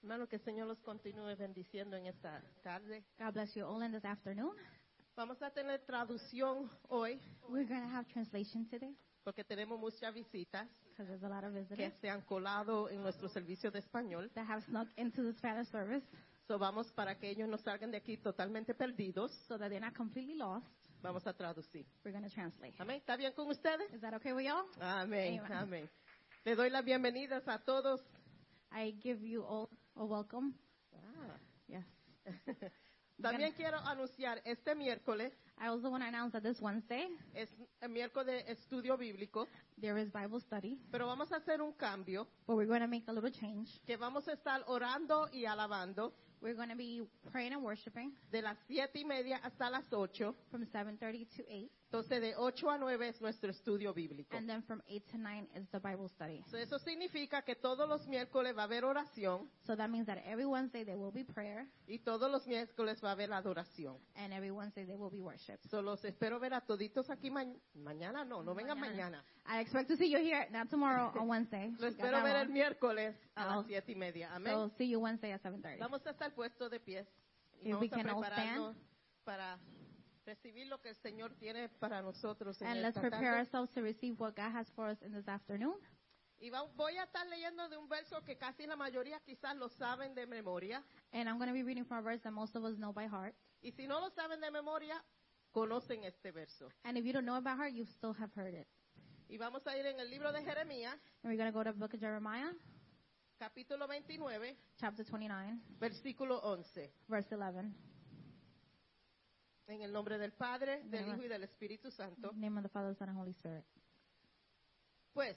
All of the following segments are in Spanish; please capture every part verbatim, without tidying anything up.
Hermano, que el Señor los continúe bendiciendo en esta tarde. God bless you all in this afternoon. Vamos a tener traducción hoy We're going to have translation today porque tenemos muchas visitas because there's a lot of que visitors se han colado en nuestro servicio de español. that have snuck into the Spanish service So vamos para que ellos no salgan de aquí totalmente perdidos. so that they're not completely lost. Vamos a traducir. We're going to translate. Amén. ¿Está bien con ustedes? Is that okay with y'all? Amén. Amen. Amén. Le doy las bienvenidas a todos. I give you all a welcome. Ah. Yes. También quiero anunciar este miércoles I also want to announce that this Wednesday es el miércoles de estudio bíblico, there is Bible study, pero vamos a hacer un cambio but we're going to make a little change. que vamos a estar orando y alabando We're going to be praying and worshiping de las siete y media hasta las ocho. from seven thirty to eight, Entonces de ocho a nueve es nuestro estudio bíblico. and then from eight to nine is the Bible study. So, eso significa que todos los miércoles va a haber oración So that means that every Wednesday there will be prayer, y todos los miércoles va a haber adoración. and every Wednesday there will be worship. So, los espero ver a toditos aquí ma- mañana, no, no vengan mañana. I expect to see you here, not tomorrow, on Wednesday. Lo You got espero that ver el wrong. miércoles a Oh. las siete y media. Amén. So see you Wednesday at seven thirty. Vamos a estar puestos de pies y If we vamos a can all prepararnos para recibir lo que el Señor tiene para nosotros en And let's esta prepare tarde. ourselves to receive what God has for us in this afternoon. Y va- voy a estar leyendo de un verso que casi la mayoría quizás lo saben de memoria. And I'm going to be reading from a verse that most of us know by heart. Y si no lo saben de memoria, conocen este verso. And if you don't know it by heart, you still have heard it. Y vamos a ir en el libro de Jeremías, And we're going to go to the book of Jeremiah, capítulo veintinueve, chapter twenty-nine, versículo once. verse eleven. En el nombre del Padre, del Amen. Hijo y del Espíritu Santo. In the name of the Father, Son, and Holy Spirit. Pues,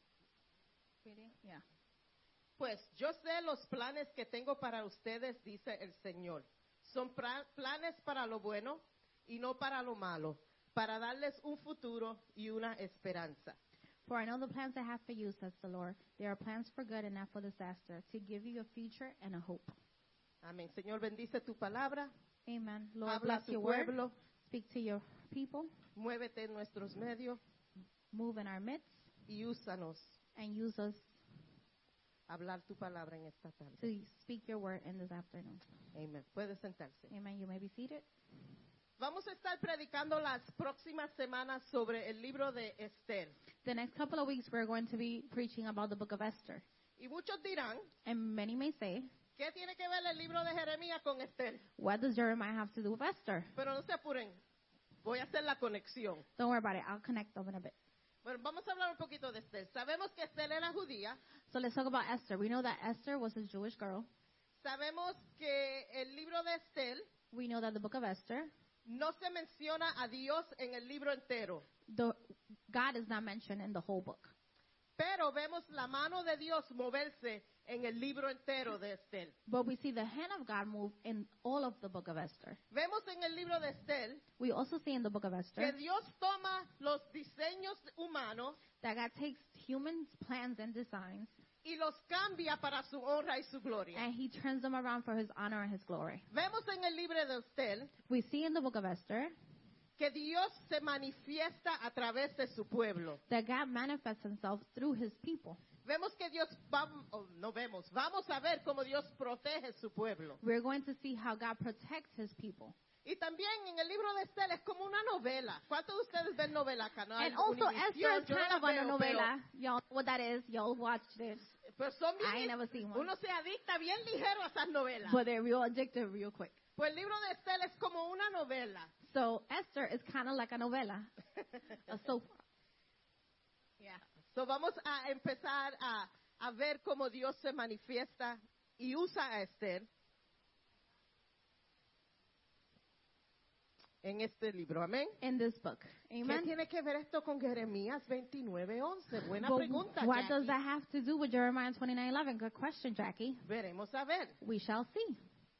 Yeah. pues yo sé los planes que tengo para ustedes, dice el Señor. Son pra- planes para lo bueno y no para lo malo, para darles un futuro y una esperanza. For I know the plans I have for you, says the Lord. They are plans for good and not for disaster, to give you a future and a hope. Amén. Señor, bendice tu palabra. Amen. Lord, Habla a bless tu your word. pueblo. Speak to your people. Muévete en nuestros medios Move in our midst y úsanos and use us a hablar tu palabra en esta tarde. to speak your word in this afternoon. Amén. Puede sentarse. Amen. You may be seated. Vamos a estar predicando las próximas semanas sobre el libro de Esther. The next couple of weeks, we're going to be preaching about the book of Esther. Y muchos dirán, And many may say, ¿qué tiene que ver el libro de Jeremías con Esther? what does Jeremiah have to do with Esther? Pero no se apuren, voy a hacer la conexión. Don't worry about it. I'll connect them in a bit. Bueno, vamos a hablar un poquito de Esther. Sabemos que Esther era judía. So let's talk about Esther. We know that Esther was a Jewish girl. Sabemos que el libro de Esther We know that the book of Esther, no se menciona a Dios en el libro entero. the, God is not mentioned in the whole book. Pero vemos la mano de Dios moverse en el libro entero de Esther. But we see the hand of God move in all of the book of Esther. Vemos en el libro de Esther We also see in the book of que Esther Dios toma los diseños humanos that God takes human plans and designs y los cambia para su honra y su gloria. and he turns them around for his honor and his glory. Vemos en el libro de Esther We see in the book of Esther que Dios se manifiesta a través de su pueblo. that God manifests himself through his people. Vemos que Dios, va, oh, no vemos, vamos a ver cómo Dios protege su pueblo. We're going to see how God protects his people. Y también en el libro de Esther es como una novela. ¿Cuántos de ustedes ven novela? Canal And also Univisión, Esther is yo no kind la of a veo, novela. Y'all know what that is. Y'all watched it. Pero, pero son bien, I ain't never seen one. uno se adicta bien ligero a esas novelas. But they're real addictive real quick. Pues el libro de Esther es como una novela. So Esther is kind of like a novela, a soap. Yeah. So vamos a empezar a, a ver cómo Dios se manifiesta y usa a Esther en este libro. Amén. In this book. ¿Qué Amen. tiene que ver esto con Jeremías veintinueve once? Buena But pregunta, what does Jackie. that have to do with Jeremiah twenty-nine eleven? Good question, Jackie. Veremos a ver. We shall see.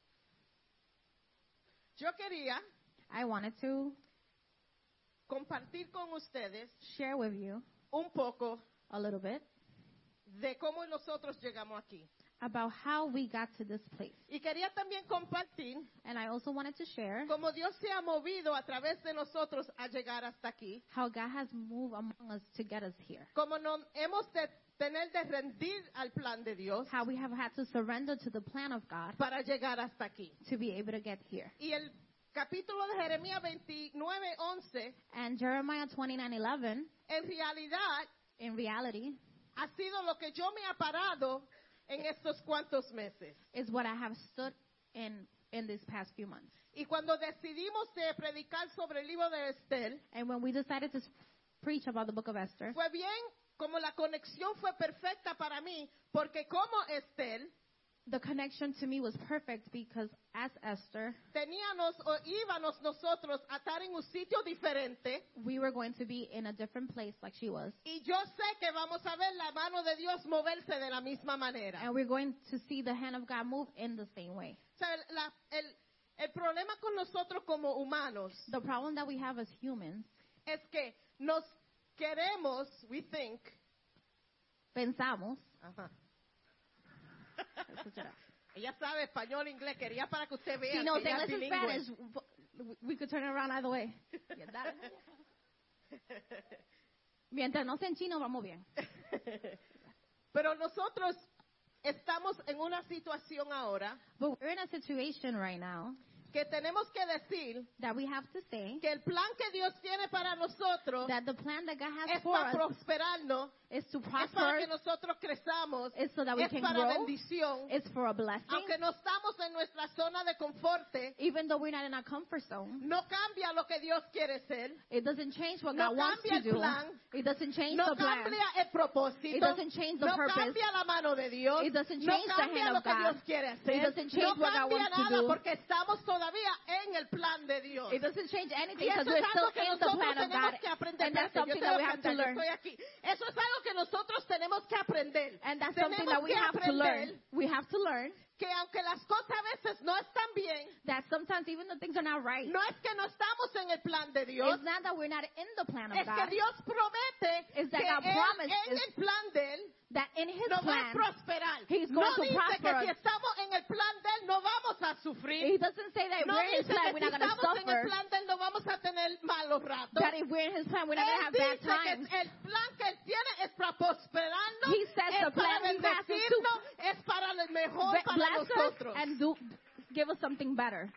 Yo quería I wanted to compartir con ustedes share with you un poco a little bit de cómo nosotros llegamos aquí. about how we got to this place. Y quería también compartir And I also wanted to share cómo Dios se ha movido a través de nosotros a llegar hasta aquí. how God has moved among us to get us here. Como nos hemos de- tener de rendir al plan de Dios how we have had to surrender to the plan of God para llegar hasta aquí. to be able to get here. Y el capítulo de Jeremías veintinueve once, And Jeremiah twenty-nine eleven, en realidad, in reality, ha sido lo que yo me ha parado en estos cuantos meses. is what I have stood in in these past few months. Y cuando decidimos de predicar sobre el libro de Estel, And when we decided to s- preach about the book of Esther, fue bien, como la conexión fue perfecta para mí, porque como Estel, the connection to me was perfect because as Esther, teníamos o íbamos nosotros a estar en un sitio diferente, we were going to be in a different place like she was. y yo sé que vamos a ver la mano de Dios moverse de la misma manera. And we're going to see the hand of God move in the same way. O sea, la- el, el problema con nosotros como humanos The problem that we have as humans, es que nos queremos, we think, pensamos, ajá. Ella sabe español, inglés, quería para que usted vea she knows que ella es English and bilingüe. Spanish, but we could turn it around either way. Yeah, that- Mientras no sea en chino, vamos bien. Pero nosotros estamos en una situación ahora But we're in a situation right now que tenemos que decir that we have to say que el plan que Dios tiene para nosotros that the plan that God has es for para us prosperarnos, is to es para prosper, que nosotros crezamos, is so that we es can para grow, bendición. is for a blessing. Aunque no estamos en nuestra zona de confort, Even though we're not in our comfort zone, no cambia lo que Dios quiere ser, it doesn't change what No God wants cambia to el do. plan. It doesn't change no the plan. cambia el propósito, It doesn't change the no purpose. cambia la mano de Dios, It doesn't no change the cambia hand lo of que God. Dios quiere hacer, It doesn't change no what God cambia wants to nada do. porque estamos todavía en el plan de Dios. It doesn't change anything Y because eso es we're still algo que in the nosotros plan of tenemos God. que aprender. And that's Espérate, yo something te that voy we a have to cantar, yo learn. estoy aquí. Eso es algo que nosotros tenemos que aprender. And that's something Tenemos that we que have to aprender learn. We have to learn que aunque las cosas a veces no están bien, that sometimes even the things are not right. no es que no estamos en el plan de Dios, It's not that we're not in the plan of es que God. Dios promete Is that que God él, promises en el plan de Él That in His nos va a plan, prosperar. He's No going to dice prosper que si us. estamos en el plan de Él no vamos a sufrir. He doesn't say that if No we're in His dice plan, que we're si not going to estamos en el suffer. plan de Él no vamos a tener malos ratos. That if we're in His plan, we're not going to Él have bad dice que times. el plan que Él tiene es para prosperarnos, He says es the para plan He has is to bendecirnos, es para lo mejor Be- para Bless us nosotros. and do, give us something better.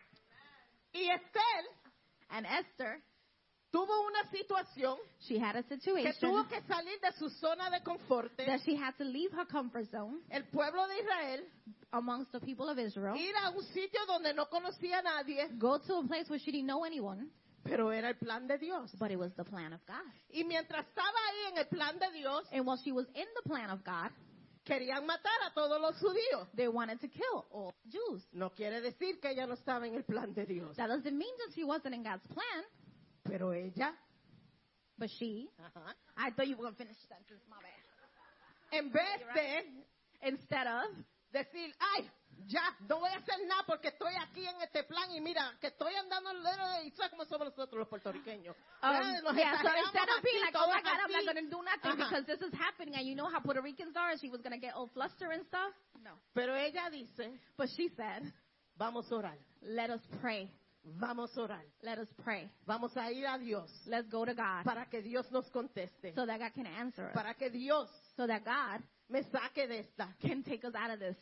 Y Estel And Esther, tuvo una situación she had a que situation tuvo que salir de su zona de confort. that she had to leave her comfort zone El pueblo de Israel, amongst the people of Israel, ir a un sitio donde no conocía a nadie, go to a place where she didn't know anyone, pero era el plan de Dios. but it was the plan of God. Y mientras estaba ahí en el plan de Dios, And while she was in the plan of God, querían matar a todos los judíos. they wanted to kill all Jews. No quiere decir que ella no estaba en el plan de Dios, That doesn't mean that she wasn't in God's plan, pero ella, but she, ajá, I thought you were going to finish the sentence, my bad. en vez de Instead of, decir, ay, ya, no voy a hacer nada porque estoy aquí en este plan y mira, que estoy andando en el dedo de Isaac como somos nosotros los puertorriqueños. um, Ya, nos yeah, so exageramos instead of being así, like, oh my todos God, I'm not así. going to do nothing Ajá. because this is happening and you know how Puerto Ricans are and she was going to get all flustered and stuff. No. Pero ella dice, But she said, vamos a orar, let us pray. vamos a orar, Let us pray. vamos a ir a Dios Let's go to God para que Dios nos conteste, so that God can answer us. para que Dios So that God me saque de esta. can take us out of this.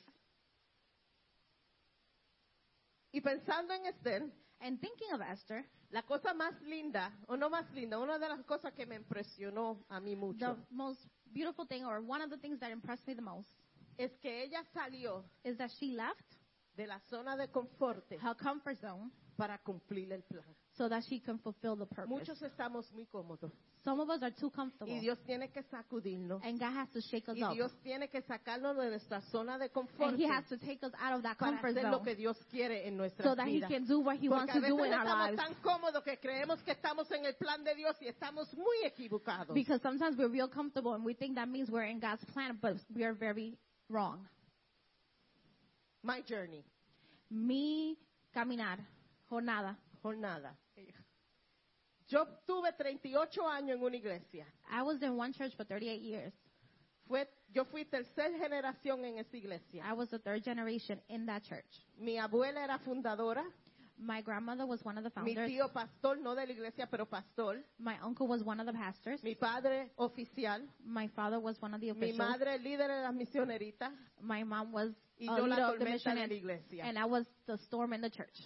Y pensando en Esther, And thinking of Esther, la cosa más linda, o no más linda, una de las cosas que me impresionó a mí the mucho, most beautiful thing, or one of the things that impressed me the most, es que ella salió is that she left de la zona de confort her comfort zone para cumplir el plan. so that she can fulfill the purpose. Muchos estamos muy cómodos Some of us are too comfortable. y Dios tiene que sacudirnos And God has to shake us y up. Dios tiene que sacarnos de nuestra zona de confort And He has to take us out of that para comfort hacer lo zone que Dios quiere en nuestra so that He vida. can do what He wants Porque to a do veces in our estamos lives. tan cómodos que creemos que estamos en el plan de Dios y estamos muy equivocados. Because sometimes we're real comfortable and we think that means we're in God's plan, but we are very wrong. My journey, Mi caminar, jornada. jornada. Yo tuve treinta y ocho años en una iglesia. I was in one church for thirty-eight years. Fue, yo fui tercera generación en esa iglesia. I was the third generation in that church. Mi abuela era fundadora, My grandmother was one of the Mi founders. tío pastor, no de la iglesia, pero pastor. My uncle was one of the pastors. Mi padre oficial. My father was one of the Mi officials. madre líder de las misioneritas. My mom was Y a yo leader la of the tormenta mission, de la and, iglesia. and I was the storm in the church.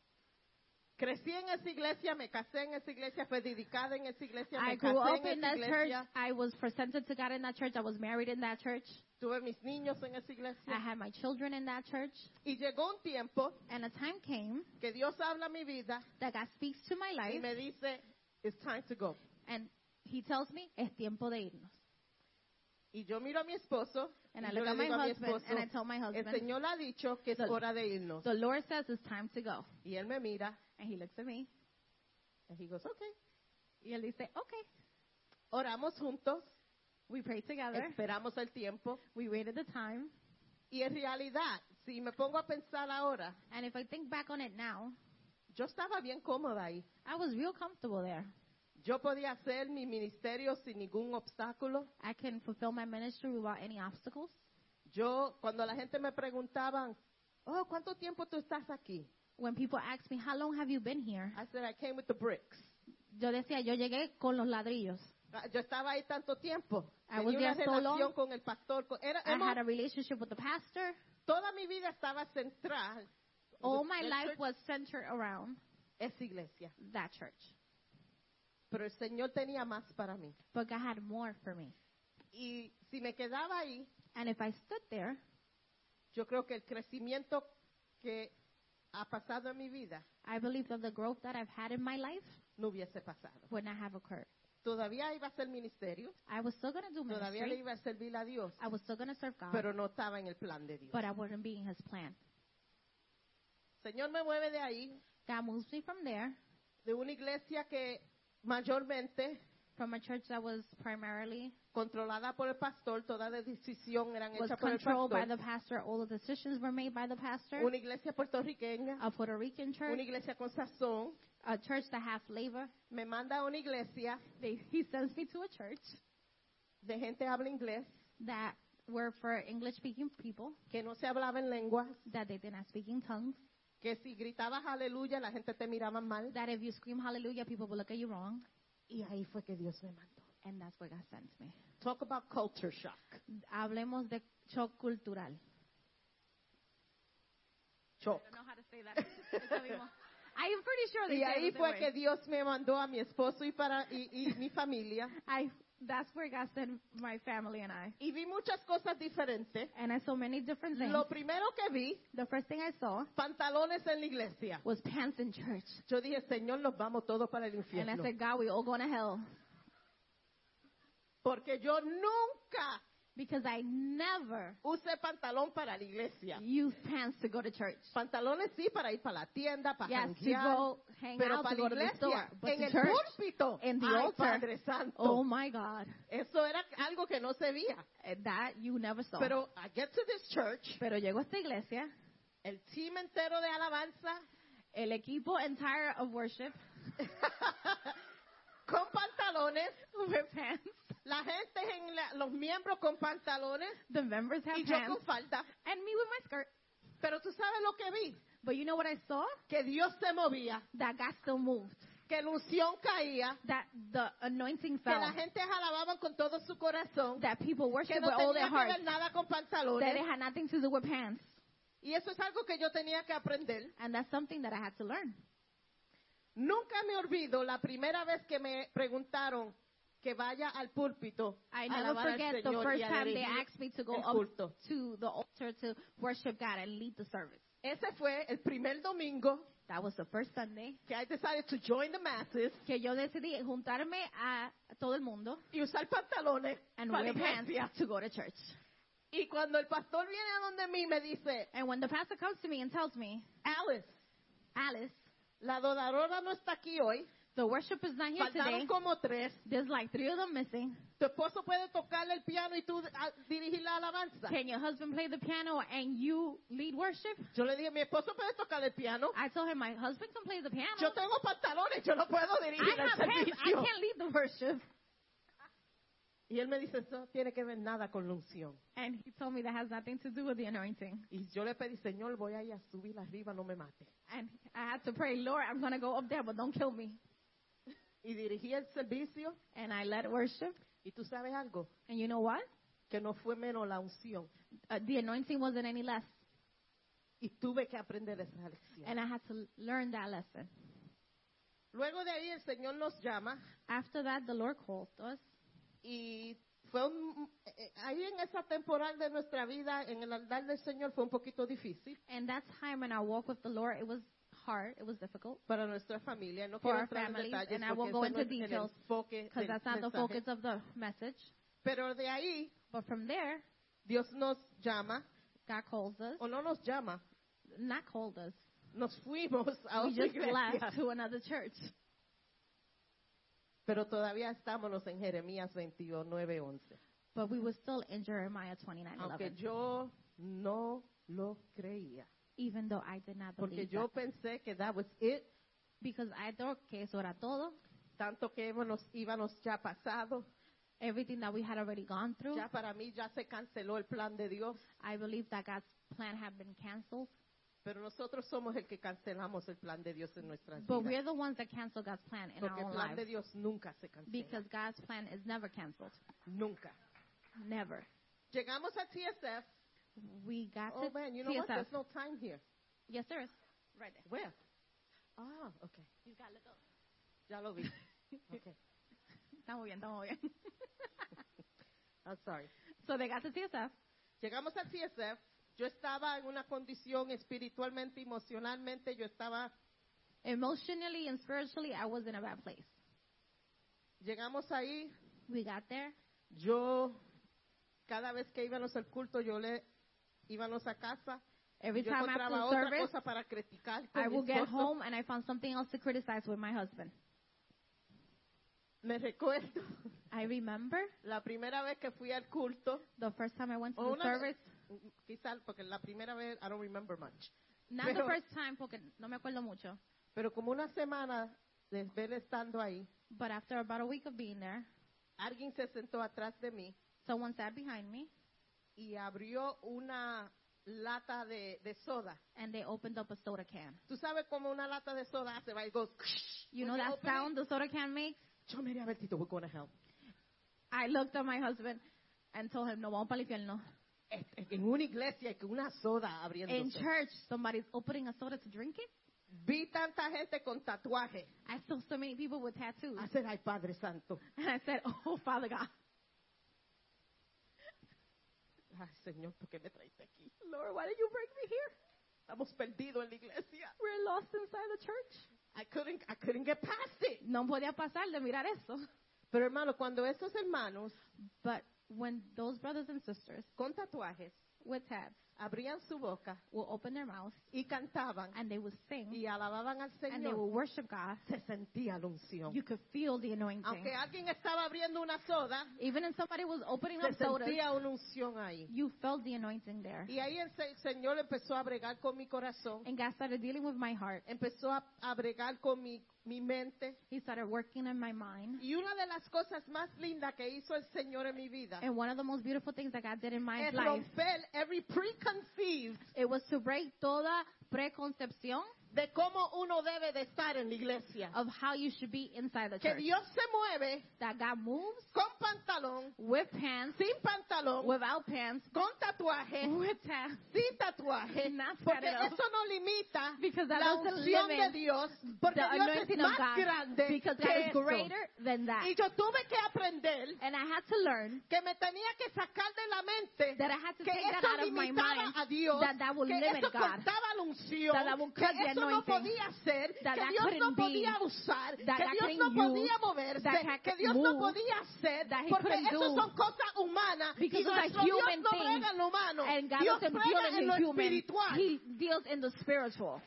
Crecí en esa iglesia, me casé en esa iglesia, fui dedicada en esa iglesia, I me grew casé up en in esa that church. iglesia. I was presented to God in that church. I was married in that church. Tuve mis niños en esa I iglesia. had my children in that church. Y llegó un tiempo And a time came que Dios habla a mi vida that God speaks to my y life, me dice, it's time to go. and He tells me, es tiempo de irnos. Y yo miro a mi esposo And y I yo look le at my digo a mi husband, esposo, and I tell my el husband, Señor ha dicho que es The- hora de irnos. the Lord says it's time to go. Y él me mira And He looks at me, y he goes, okay. y Él dice, okay. Oramos juntos, We prayed together. esperamos el tiempo. We waited the time. Y en realidad, si me pongo a pensar ahora, And if I think back on it now, yo estaba bien cómoda ahí. I was real comfortable there. Yo podía hacer mi ministerio sin ningún obstáculo. I can fulfill my ministry without any obstacles. Yo, cuando la gente me preguntaban, oh, ¿cuánto tiempo tú estás aquí? When people ask me, how long have you been here? I said, I came with the bricks. Yo decía, yo llegué con los ladrillos. Ah, Yo estaba ahí tanto tiempo. I was Tenía una there so relación long. con el pastor. con- era- I hemos- had a relationship with the pastor. toda mi vida estaba central. All The- my the life church- was centered around esa iglesia. that church. Pero el Señor tenía más para mí. But God had more for me. Y si me quedaba ahí, And if I stood there, yo creo que el crecimiento que ha pasado en mi vida I believe that the growth that I've had in my life no hubiese pasado. would not have occurred. Todavía iba a hacer ministerio, I was still going to do todavía le ministry. iba a servir a Dios, I was still going to serve God. pero no estaba en el plan de Dios. But I wouldn't be in His plan. Señor me mueve de ahí, God moves me from there, de una iglesia que mayormente from a church that was primarily controlada por el pastor, toda la decisión eran was hechas por el controlled by pastor. the pastor. All the decisions were made by the pastor. Una iglesia puertorriqueña, A Puerto Rican church, una iglesia con sazón, a church that has flavor. me manda a una iglesia They, he sends me to a church de gente habla inglés, that were for English-speaking people, que no se hablaba en lenguas, that they did not speak in tongues, que si gritabas aleluya la gente te miraba mal. that if you scream hallelujah, people will look at you wrong. Y ahí fue que Dios me mandó. And that's where God sent me. Talk about culture shock. Hablemos de shock cultural. Shock. I don't know how to say that. Eso mismo. I am pretty sure they Y say ahí it the fue same que way. Dios me mandó a mi esposo y para y, y mi familia. I, that's where God sent my family and I. Y vi muchas cosas diferentes. And I saw many different things. Lo primero que vi, The first thing I saw pantalones en la iglesia. was pants in church. Yo dije, Señor, nos vamos todos para el And I infierno. said, God, we all going to hell. Porque yo nunca Because I never usé pantalón para la iglesia. used pants to go to church. Pantalones sí para ir para la tienda, para Yes, to janguear, go hang pero out, para to la go to the iglesia, store. But en to el church, púlpito, in the ay, altar. Padre Santo. Oh my God. Eso era algo que no se veía. Eh, That you never saw. Pero I get to this church, Pero llego a esta iglesia, el team entero de alabanza, el equipo entire of worship, con pantalones, with pants. la gente, en la- los miembros con pantalones, The members have y yo pants. con falda. And me with my skirt. Pero tú sabes lo que vi, But you know what I saw? que Dios se movía, That God still moved. que la unción caía, That the anointing que la fell. gente alababan con todo su corazón, That people que worship no with all tenía their que hearts. ver nada con That it pantalones. had nothing to do with pants. Y eso es algo que yo tenía que aprender. And that's something that I had to learn. Nunca me olvido la primera vez que me preguntaron que vaya al púlpito I a never alabar al forget the Señor first y a time they dirigir asked me to go el up culto. to the altar to worship God and lead the service. Ese fue el primer domingo That was the first Sunday que I decided to join the masses que yo decidí juntarme a todo el mundo y usar pantalones and para la wear pants iglesia. to go to church. Y cuando el pastor viene a donde mí me dice, And when the pastor comes to me and tells me, Alice, Alice, la adoradora no está aquí hoy, the worship is not here today. faltaron como tres, There's like three of them missing. tu esposo puede tocarle el piano y tú a- dirigir la alabanza. Can your husband play the piano and you lead worship? Yo le dije, mi esposo puede tocar el piano, I told him my husband can play the piano. yo tengo pantalones, yo no puedo I dirigir el have pants. I servicio. can't lead the worship. Y él me dice, eso no tiene que ver nada con la unción. And he told me that has nothing to do with the anointing. Y yo le pedí, Señor, voy a ir a subir arriba, no me mate. And I had to pray, Lord, I'm going to go up there, but don't kill me. Y dirigí el servicio. And I led worship. Y tú sabes algo, And you know what? que no fue menos la unción. Uh, the anointing wasn't any less. Y tuve que aprender esa lección. And I had to learn that lesson. Luego de ahí el Señor nos llama. After that, the Lord called us. Y fue un, eh, ahí en esa temporada de nuestra vida, en el andar del Señor, fue un poquito difícil And that time in our walk with the Lord, it was hard. It was difficult para nuestra familia. No for quiero our entrar en families. detalles And I porque won't go ese no into es el details enfoque because del that's not the mensaje. focus of the message. Pero de ahí, But from there, Dios nos llama, God calls us. o no nos llama, Not called us. nos fuimos a We otra just iglesia. left to another church. Pero todavía estábamos en Jeremías veintinueve once. But we were still in Jeremiah twenty-nine Aunque eleven. yo no lo creía. Even though I did not Porque believe yo that. pensé que that was it. Because I thought que eso era todo. Tanto que íbamos, íbamos ya pasado. Everything that we had already gone through. Ya para mí ya se canceló el plan de Dios. I believe that God's plan had been canceled. Pero nosotros somos el que cancelamos el plan de Dios en nuestras But vidas. we're the ones that cancel God's plan in Porque our el own plan de lives. Dios nunca se cancela. Because God's plan is never canceled. Nunca. Never. Llegamos a T S F. We got Oh to man, you know T S what? F. There's no time here. Yes, there is. Right there. Where? Ah, okay. You got to look up. Ya lo vi. Okay. Estamos bien, estamos bien. I'm sorry. So they got to T S F. Llegamos a T S F. Yo estaba en una condición espiritualmente, emocionalmente, yo estaba. Emotionally and spiritually, I was in a bad place. Llegamos ahí. We got there. Yo, cada vez que íbamos al culto, yo le íbamos a casa. Every Yo time encontraba after otra service, cosa para criticar con I mi would get esposo. home and I found something else to criticize with my husband. Me recuerdo I remember la primera vez que fui al culto, the first time I went to o the una service. quizás porque la primera vez I don't remember much, Not Pero- the first time porque no me acuerdo mucho. pero como una semana de ver estando ahí, But after about a week of being there, alguien se sentó atrás de mí someone sat behind me y abrió una lata de, de soda. and they opened up a soda can. Tú sabes cómo una lata de soda hace, va y goes. You when know you that open it? sound the soda can makes? Yo miré a ver, Tito, we're going to hell. I looked at my husband and told him, no, vamos para el infierno. En en una iglesia que una soda abriendo. In church, somebody's opening a soda to drink it? Vi tanta gente con tatuaje. I saw so many people with tattoos. I said, ay, Padre Santo. And I said, oh, Father God. Ay, Señor, ¿por qué me traiste aquí? Lord, why did you bring me here? Estamos perdidos en la iglesia. We're lost inside the church. I couldn't, I couldn't get past it. No podía pasar de mirar eso. Pero hermano, cuando esos hermanos But when those brothers and sisters con tatuajes with tabs abrían su boca will open their mouths y cantaban and they would sing y alababan al and they will Señor, worship God, se sentía la unción. you could feel the anointing. Aunque alguien estaba abriendo una soda, Even if somebody was opening se up sodas, sentía una unción ahí. you felt the anointing there. Y ahí el se- Señor empezó a bregar con mi corazón, And God started dealing with my heart. empezó a, a bregar con mi, mi mente. He started working in my mind. Y una de las cosas más lindas que hizo el Señor en mi vida And one of the most beautiful things that God did in my es life, romper every preconceived it was to break toda preconcepción de cómo uno debe de estar en la iglesia. of how you should be inside the Que church. Dios se mueve That God moves con pantalón, with pants, sin pantalón, without pants, con tatuaje, with tabs. sin tatuaje, Not porque tatted up. eso no limita Because that la doesn't unción de limit Dios, porque the Dios es anointing of más God. grande Because que God is eso. greater than that. Y yo tuve que aprender And I had to learn que me tenía que sacar de la mente that I had to que take that eso out of my limitaba mind, a Dios, that that would que limit eso God, cortaba la unción, that that would que cut the eso no anointing, podía ser, that que that Dios no couldn't be, podía usar, that que that Dios couldn't no use, podía moverse, that that que could Dios no move, podía hacer, that he porque couldn't eso do, son cosas humanas y because it's a nuestro Dios human no thing, brega en lo humano, and God Dios doesn't deal brega in en lo the human, espiritual. He deals in the spiritual.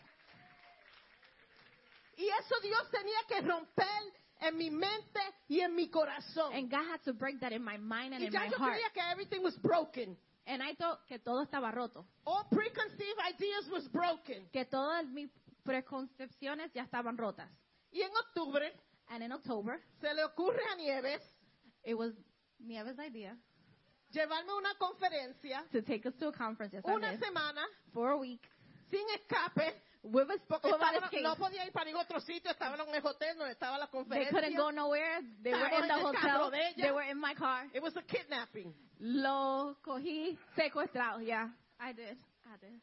Y eso Dios tenía que romper en mi mente y en mi corazón. And God had to break that in my mind and Y in ya my yo heart. creía que everything was broken. And I thought que todo estaba roto, All preconceived ideas was broken. que todas mis preconcepciones ya estaban rotas. Y en octubre And in October, se le ocurre a Nieves it was Nieves' idea llevarme a una conferencia to take us to a conference. Yes, I una did. semana For a week. sin escape. With a, Porque without estaban- escape. no podía ir para ningún otro sitio, estaban en el hotel donde estaba la They conferencia. couldn't go nowhere. They were Estábamos in the en el carro hotel. de ella. They were in my car. It was a kidnapping. Lo cogí secuestrado. Yeah, I did. I did.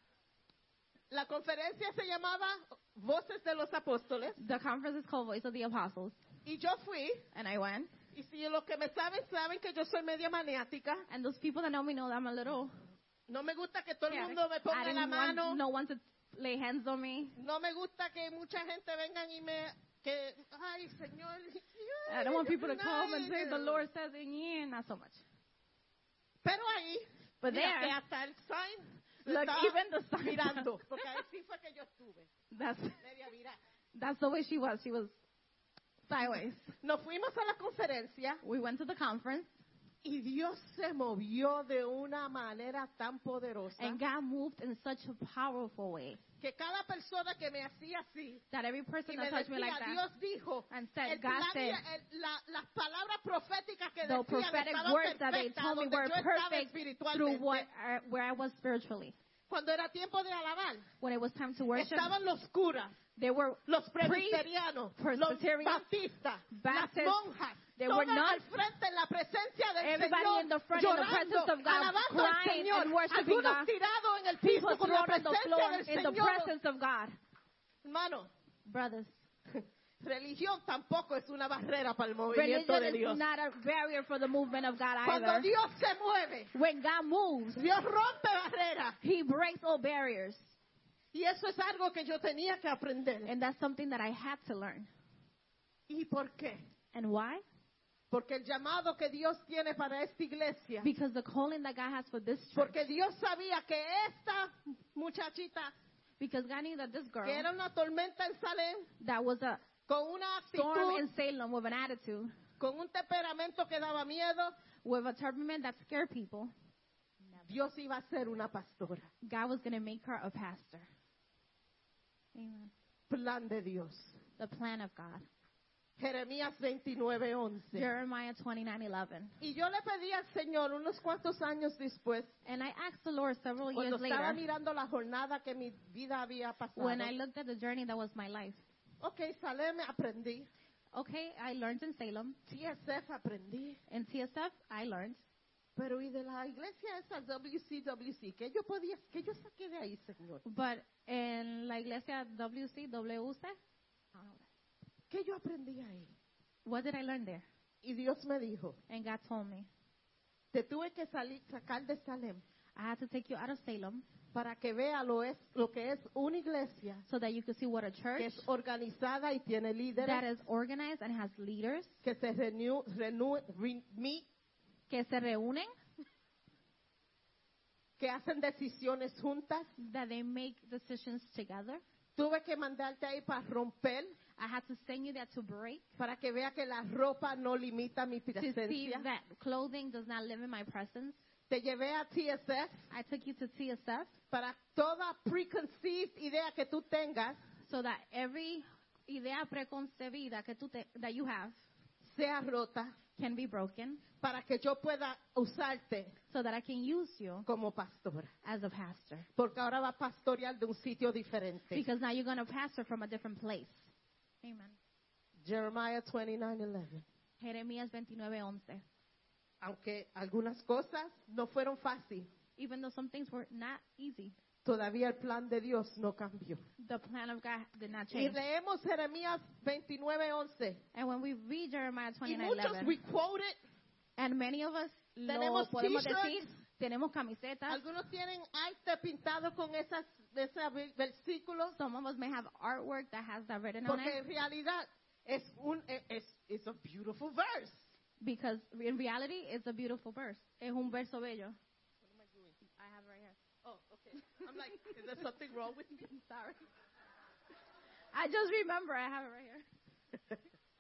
La conferencia se llamaba Voces de los Apóstoles The conference is called Voice of the Apostles. y yo fui. And I went. Y si los que me saben, saben que yo soy media maniática. And those people that know me know that I'm a little... No me gusta que todo el Yeah, mundo me I ponga la didn't want mano. no one to lay hands on me. No me gusta que mucha gente vengan y me... Que, ay, Señor. I don't want ay, people to come and say, ay. the Lord says, and yeah, not so much. Pero ahí, But mira, que there, hasta el sign lo look, estaba even the sign. mirando. Porque ahí sí fue que yo estuve. That's, Media virada. that's the way she was. She was sideways. Nos fuimos a la conferencia We went to the conference, y Dios se movió de una manera tan poderosa and God moved in such a powerful way que cada persona que me hacía así that every person y that me touched me like decía, that Dios dijo, and said, el God plan y said, el- la- las palabras proféticas que the decían prophetic estaban words that they perfectas told me donde were yo estaba perfect through espiritualmente. what I, where I was spiritually. Cuando era tiempo de alabar, When it was time to worship, estaban los curas, there were los presbiterianos, los Presbyterians, baptistas, las Baptists, monjas, there todas were nuns, al frente en la presencia del everybody Señor, in the front in the llorando, presence of God, alabando al crying Señor, and worshiping algunos God. tirados en el People piso con la thrown on the presencia floor del in the Señor. presence of God. Hermano, Brothers, religión tampoco es una barrera para el movimiento religion de is Dios. not a barrier for the movement of God Cuando either. Dios se mueve, When God moves, Dios rompe barreras. He breaks all barriers. Y eso es algo que yo tenía que aprender. And that's something that I had to learn. ¿Y por qué? And why? Porque el llamado que Dios tiene para esta iglesia, Because the calling that God has for this church, porque Dios sabía que esta muchachita, because God knew that this girl, que era una tormenta en Salem, that was a con una storm in actitud, Salem with an attitude, con un temperamento que daba miedo, with a temperament that scared people, Dios iba a ser una pastora. God was going to make her a pastor. Amen. Plan de Dios. The plan of God. Jeremías veintinueve once. Jeremiah twenty-nine eleven. Y yo le pedí al Señor unos cuantos años después, And I asked the Lord several cuando years estaba later, mirando la jornada que mi vida había pasado. when I looked at the journey that was my life. Ok, Salem aprendí. Okay, I learned in Salem. T S F aprendí. In T S F, I learned. Pero y de la iglesia esa W C W C, ¿qué yo podía, qué yo saqué de ahí, Señor? But in la iglesia W C W C, ¿Qué yo aprendí ahí? what did I learn there? Y Dios me dijo, And God told me, te tuve que salir, sacar de Salem I had to take you out of Salem para que vea lo, es, lo que es una iglesia so that you could see what a que church es organizada y tiene that líderes is organized and has leaders que se renew, renew, re- meet, que se reúnen, que hacen decisiones juntas. that they make decisions together. Tuve que mandarte ahí para romper, I had to send you there to break, para que vea que la ropa no limita mi to see presencia. that clothing does not limit my presence. Te llevé a T S F I took you to T S F para toda preconceived idea que tú tengas so that every idea preconcebida que tú te, that you have sea rota, can be broken, para que yo pueda usarte so that I can use you como pastora. as a pastor. Porque ahora va a pastorear de un sitio diferente. Because now you're going to pastor from a different place. Amen. Jeremiah twenty-nine eleven. Jeremías veintinueve once. Aunque algunas cosas no fueron fáciles, Even though some things were not easy, todavía el plan de Dios no cambió. the plan of God did not Y change. leemos Jeremías veintinueve once. And when we read Jeremiah Y twenty-nine muchos eleven, we quote it. and many of us lo Tenemos podemos t-shirts. decir, tenemos camisetas. Algunos tienen arte pintado con esas, ese versículos. Some of us may have artwork that has that written on Porque it. en realidad es un es, es a beautiful verse. Because in reality, it's a beautiful verse. Es un verso bello. What am I doing? I have it right here. Oh, okay. I'm like, is there something wrong with me? I'm sorry. I just remember I have it right here.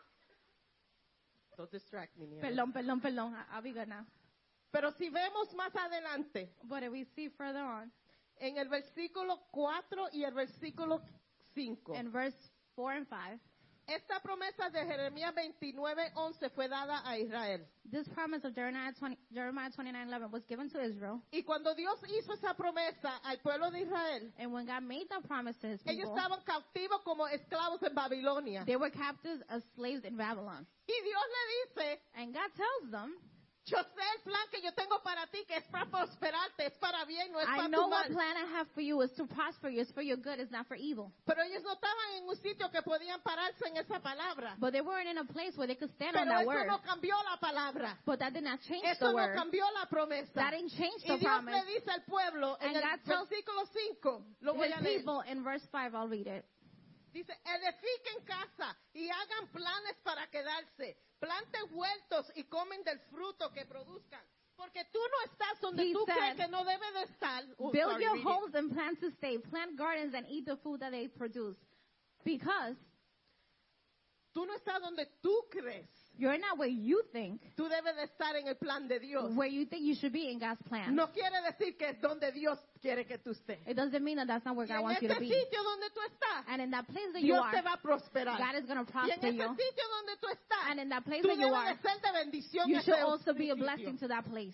Don't distract me. Niela. Perdón, perdón, perdón. I- I'll be good now. Pero si vemos más adelante, But if we see further on, en el versículo cuatro y el versículo cinco, in verse four and five, Esta promesa de Jeremías veintinueve once fue dada a Israel. This promise of Jeremiah twenty, Jeremiah twenty-nine eleven was given to Israel. Y cuando Dios hizo esa promesa al pueblo de Israel, And when God made that promise to his ellos people, estaban cautivos como esclavos en Babilonia. they were captives as slaves in Babylon. Y Dios le dice, And God tells them, yo sé el plan que yo tengo para ti, que es para prosperarte, es para bien, no es I para know tu what mal. plan I have for you is to prosper you, it's for your good, it's not for evil. Pero ellos no estaban en un sitio que podían pararse en esa palabra. But they weren't in a place where they could stand on Pero that eso word. no cambió la palabra. But that did not change Eso the no word. cambió la promesa. That didn't change Y the Dios promise. le dice al pueblo en And el God tells versículo cinco, lo voy His a leer. people in verse five, I'll read it. Dice, edifiquen casa y hagan planes para quedarse. Planten huertos y comen del fruto que produzcan. Porque tú no estás donde He tú said, crees que no debe de estar. Oh, Build sorry, your read it. homes and plan to stay. Plant gardens and eat the food that they produce. Because Tú no estás donde tú crees. you're not where you think, Tú debes de estar en el plan de Dios. where you think you should be in God's plan. No quiere decir que es donde Dios quiere que tú estés. It doesn't mean that that's not where Y God en you ese to be. sitio donde tú estás, And in that place that you Dios are, te va a prosperar. God is going to Y en prosper ese you. sitio donde tú estás, And in that place tú that you debes are, de ser de bendición you a should ese also be a sitio. blessing to that place.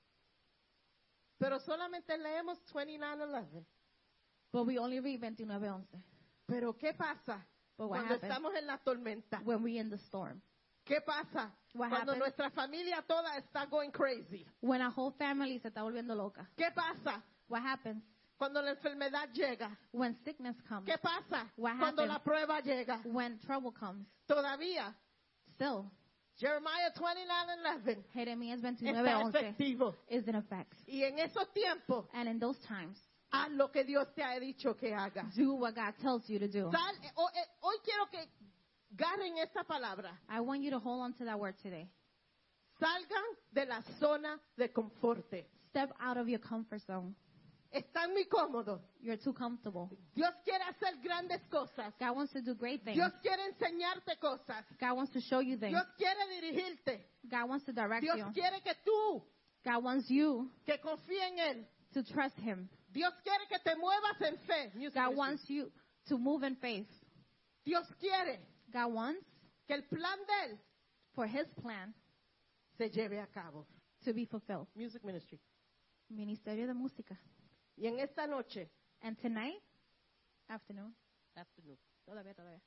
Pero solamente leemos veintinueve once. But we only read twenty-nine eleven. Pero ¿qué pasa But what cuando happens estamos en la tormenta? when we're in the storm? ¿Qué pasa What cuando happens? nuestra familia toda está going crazy? When a whole family se está volviendo loca. ¿Qué pasa What happens? cuando la enfermedad llega? When sickness comes. ¿Qué pasa What cuando happens? la prueba llega? When trouble comes. Todavía Still, Jeremiah veintinueve once Jeremías está twenty-nine eleven efectivo. is in effect. Y en esos tiempos, And in those times, haz lo que Dios te ha dicho que hagas. do what God tells you to do. Sal, eh, ho- eh, hoy quiero que agarren esta palabra. I want you to hold on to that word today. Salgan de la zona de conforte. Step out of your comfort zone. Están muy cómodos. You're too comfortable. Dios quiere hacer grandes cosas. God wants to do great things. Dios quiere enseñarte cosas. God wants to show you things. Dios quiere dirigirte. God wants to direct Dios you. quiere que tú, God wants you que confíes en Él. to trust Him. Dios quiere que te muevas en fe. Music God ministry. wants you to move in faith. Dios quiere God wants que el plan de Él for His plan se lleve a cabo. to be fulfilled. Music ministry. Ministerio de Música. Y en esta noche, And tonight, afternoon, afternoon, todavía, todavía.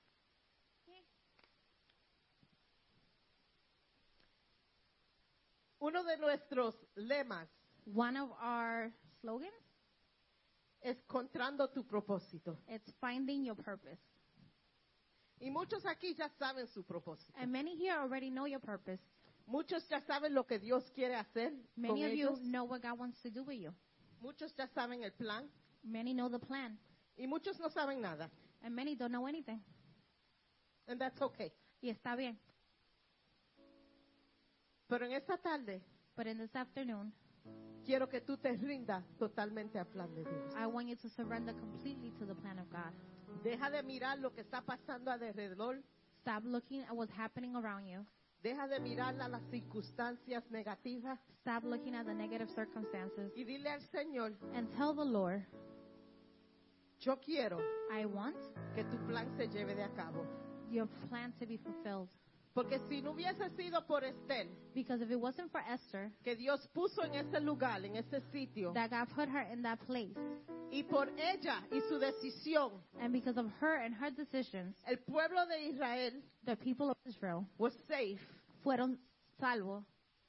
uno de nuestros lemas One of our slogans, es encontrando tu propósito. it's finding your purpose. Y muchos aquí ya saben su propósito. And many here already know your purpose. Muchos ya saben lo que Dios quiere hacer Many con of you ellos. know what God wants to do with you. Muchos ya saben el plan Many know the plan. y muchos no saben nada. And many don't know anything. And that's okay. Y está bien. Pero en esta tarde But in this afternoon, quiero que tú te rindas totalmente al plan de Dios. I want you to surrender completely to the plan of God. Deja de mirar lo que está pasando alrededor. Stop looking at what's happening around you. Deja de mirar a las circunstancias negativas Stop looking at the negative circumstances. y dile al Señor, And tell the Lord, yo quiero I want que tu plan se lleve de a cabo. your plan to be fulfilled. Porque si no hubiese sido por Esther, Because if it wasn't for Esther, que Dios puso en ese lugar, en ese sitio, that God put her in that place, y por ella y su decisión, and because of her and her decisions, el pueblo de Israel the people of Israel was safe. fueron salvos.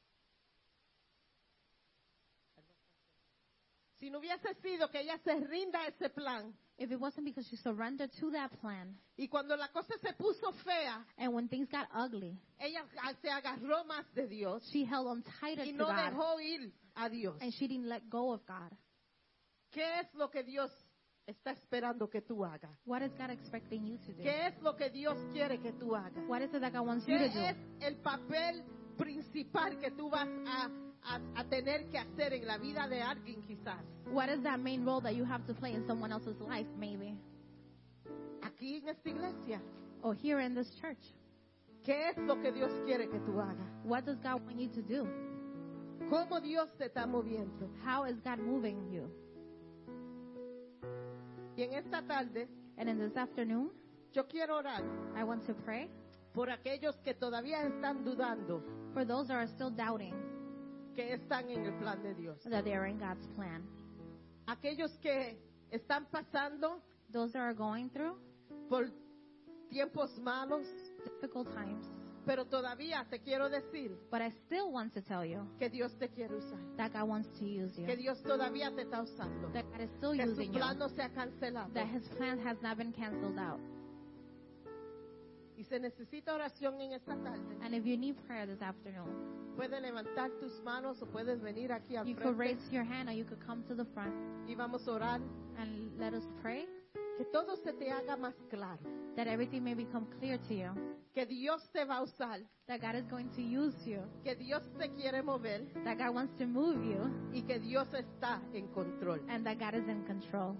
Si no hubiese sido que ella se rinda a ese plan, If it wasn't because she surrendered to that plan, y cuando la cosa se puso fea, and when things got ugly, ella se agarró más de Dios she held on tighter y to no God, dejó ir a Dios. and she didn't let go of God. ¿Qué es lo que Dios está esperando que tú hagas? What is God expecting you to do? ¿Qué es lo que Dios quiere que tú hagas? What is it that God wants you ¿Qué to do? es el papel principal que tú vas a, a, a tener que hacer en la vida de alguien quizás? What is that main role that you have to play in someone else's life, maybe? Aquí en esta iglesia, Or here in this church? ¿qué es lo que Dios quiere que tú hagas? What does God want you to do? ¿Cómo Dios te está moviendo? How is God moving you? Y en esta tarde, And in this afternoon, Yo quiero orar I want to pray por aquellos que todavía están dudando for those that are still doubting que están en el plan de Dios. that they are in God's plan. Aquellos que están pasando Those that are going through por tiempos malos, difficult times. pero todavía te quiero decir But I still want to tell you que Dios te quiere usar, that God wants to use you. que Dios todavía te está usando, That God is still que su using you. plan no se ha cancelado. That His plan has not been canceled out. Y se necesita oración en esta tarde. And if you need prayer this afternoon, Puedes levantar tus manos o puedes venir aquí al you could frente raise your hand or you could come to the front y vamos a orar. and let us pray Que todo se te haga más claro, that everything may become clear to you. que Dios te va a usar, That God is going to use you. que Dios te quiere mover That God wants to move you. y que Dios está en control. And that God is in control.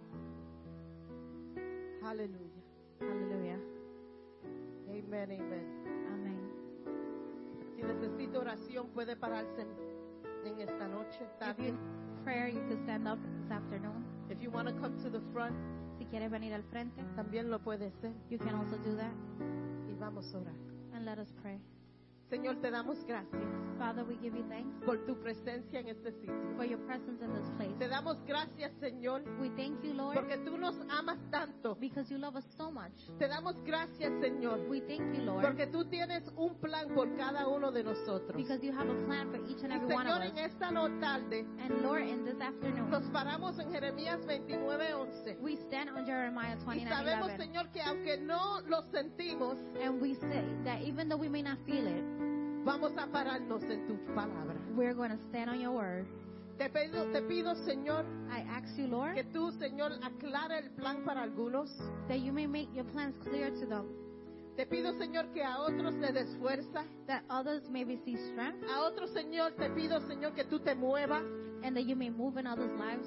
Aleluya. Hallelujah. Amén, amén. Amen. Si necesita oración, puede pararse en, en esta noche. Está If you bien. need prayer, you could stand up this afternoon. If you want to come to the front, Si quieres venir al frente, también lo puede hacer. you can also do that. Y vamos a orar. And let us pray. Señor, te damos gracias Father, we give you thanks por tu presencia en este sitio. for your presence in this place. Te damos gracias, Señor, We thank you, Lord, porque tú nos amas tanto. because you love us so much. Te damos gracias, Señor, We thank you, Lord, porque tú tienes un plan por cada uno de nosotros. because you have a plan for each and Y every one of Señor, us. en esta no tarde And Lord, in this afternoon, nos paramos en Jeremías veintinueve once. we stand on Jeremiah Y twenty-nine sabemos, eleven. Señor, que aunque no lo sentimos, And we say that even though we may not feel it, vamos a pararnos en tu palabra. we're going to stand on your word. Te pido, te pido, Señor, I ask you, Lord, que tú, Señor, aclare el plan para algunos. that you may make your plans clear to them, Te pido, Señor, que a otros le des fuerza. that others may receive strength, A otros, Señor, te pido, Señor, que tú te muevas. and that you may move in others' lives.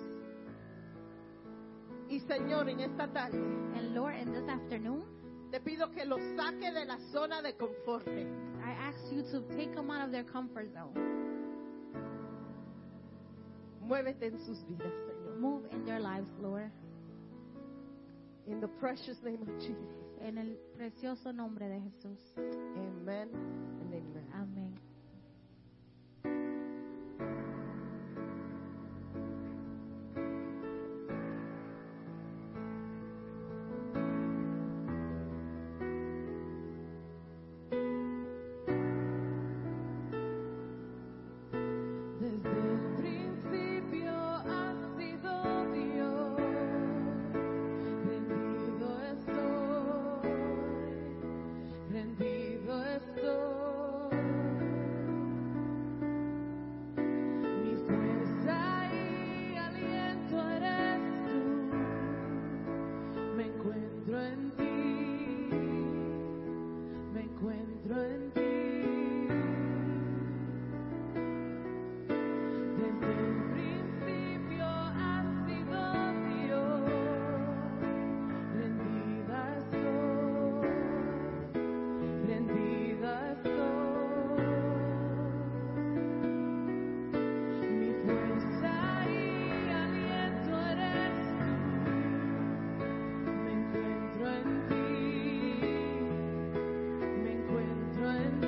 Y, Señor, en esta tarde, And Lord, in this afternoon, te pido que los saque de la zona de confort. I ask you to take them out of their comfort zone. Muévete en sus vidas, Señor. Move in their lives, Lord. In the precious name of Jesus. En el precioso nombre de Jesús. Amen and amen. Amén. Desde el principio has sido Dios, rendido estoy, rendido estoy. Mi fuerza y aliento eres tú, me encuentro en ti, me encuentro en ti. Desde el principio has sido Dios, rendida estoy, rendida estoy. Mi fuerza y aliento eres tú, me encuentro en ti, me encuentro en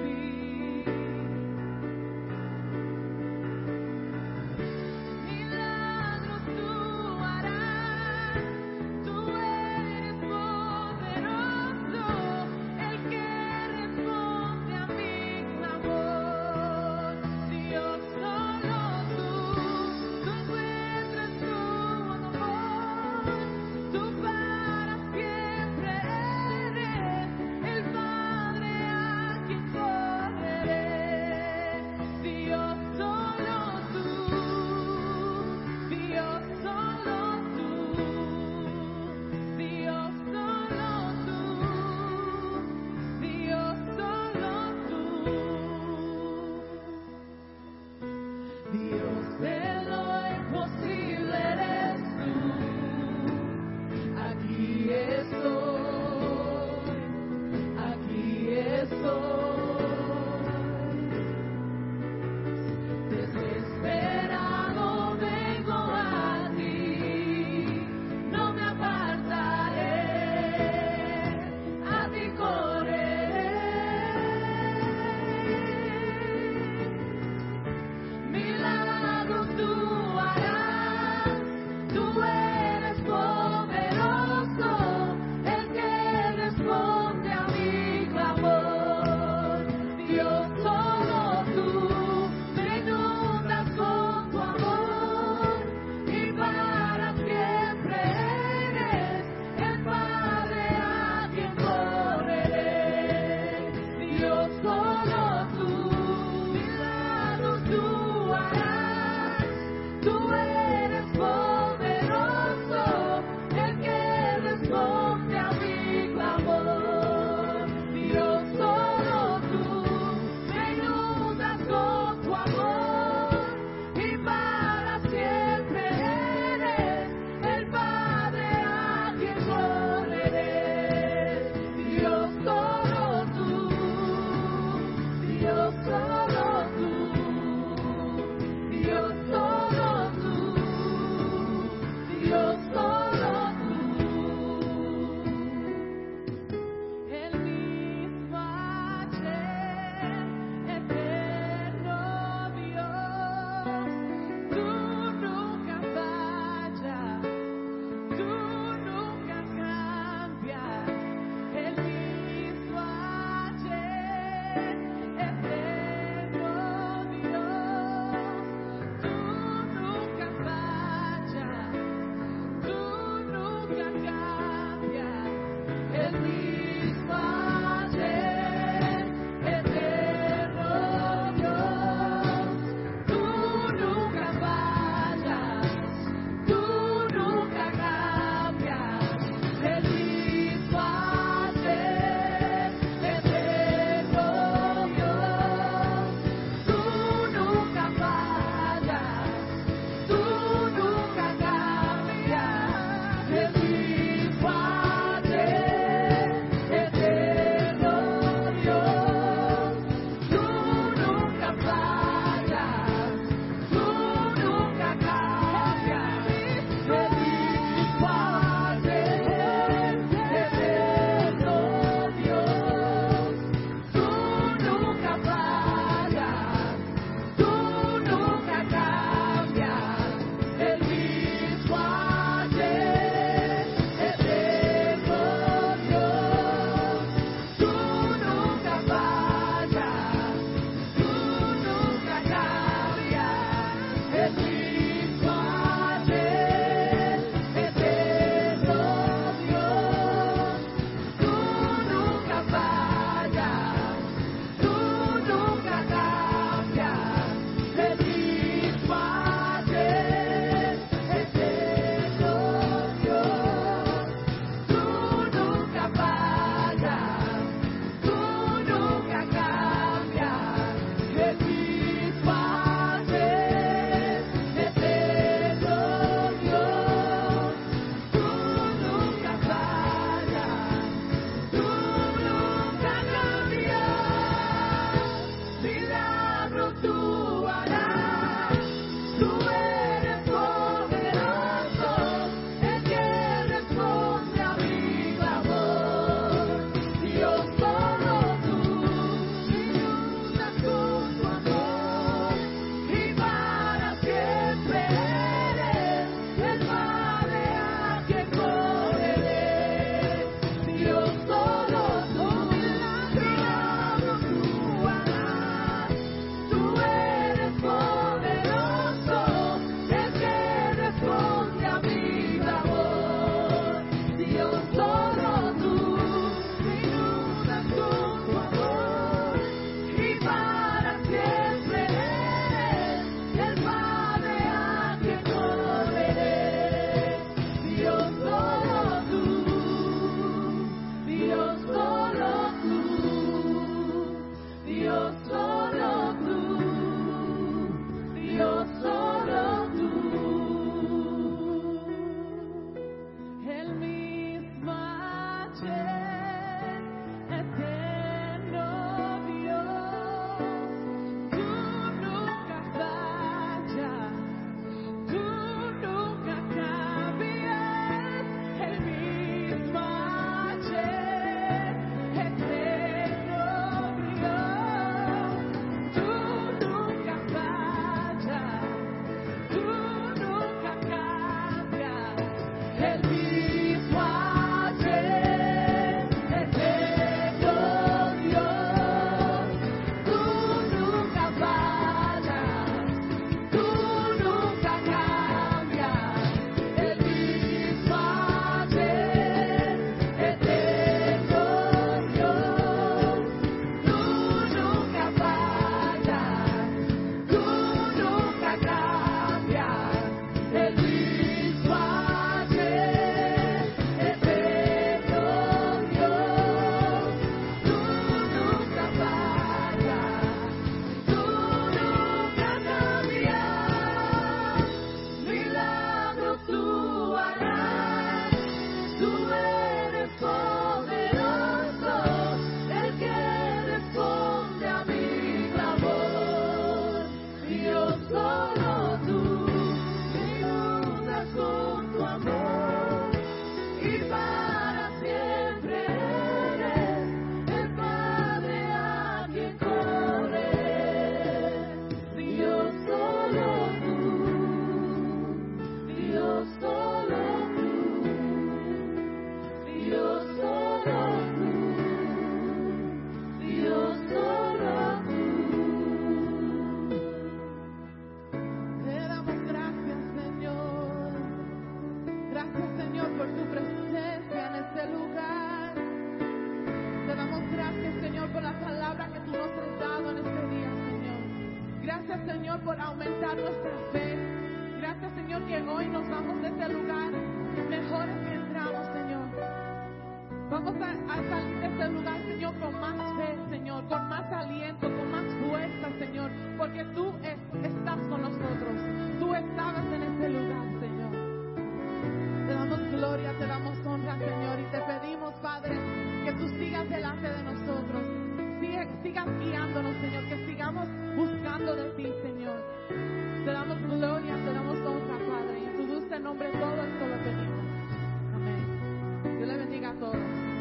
vamos a, a salir de este lugar, Señor, con más fe, Señor, con más aliento, con más fuerza, Señor, porque tú es- estás con nosotros. Tú estabas en este lugar, Señor. Te damos gloria, te damos honra, Señor, y te pedimos, Padre, que tú sigas delante de nosotros. Sigue- sigas guiándonos, Señor, que sigamos buscando de ti, Señor. Te damos gloria, te damos honra, Padre. En tu dulce nombre todo esto lo pedimos. Amén. Dios le bendiga a todos.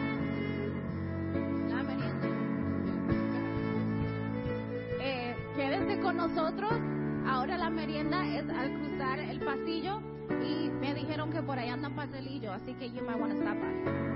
La merienda. Eh, quédense con nosotros. Ahora la merienda es al cruzar el pasillo y me dijeron que por ahí andan pastelillos, así que you might want to stop by.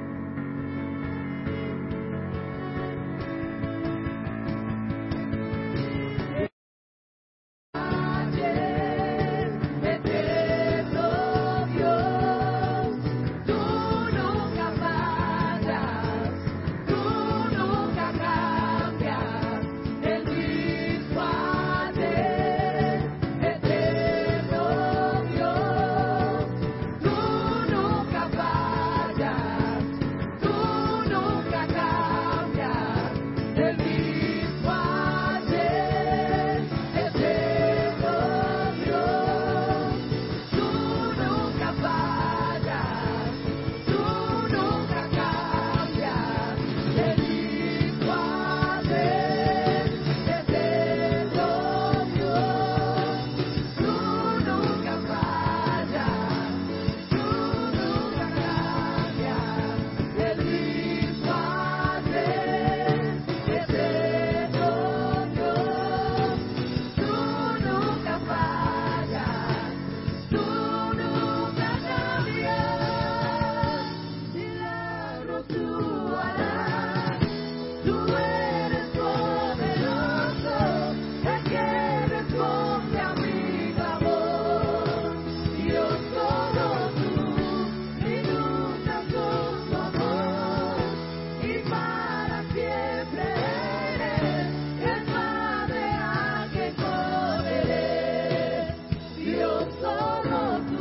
Eterno Dios, tú nunca fallas, tú nunca cambias, el mismo ayer. Eterno Dios, tú nunca fallas, tú nunca cambias, el mismo ayer. Eterno Dios, tú nunca fallas, tú nunca cambias, el mismo ayer. Eterno Dios, tú nunca fallas, tú nunca cambias, el mismo ayer. Eterno Dios, tú nunca fallas, tú nunca cambias, milagros tú harás, tú eres poderoso, el que responde a mi clamor, Dios solo tú, inundas con tu amor, y para siempre eres el Padre a quien correré. Dios solo tú,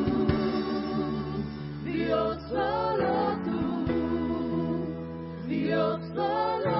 Dios solo tú, Dios solo